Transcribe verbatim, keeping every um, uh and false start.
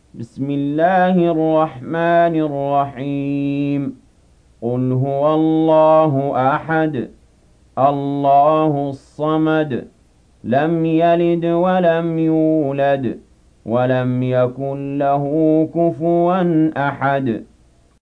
بسم الله الرحمن الرحيم قل هو الله أحد الله الصمد لم يلد ولم يولد ولم يكن له كفوا أحد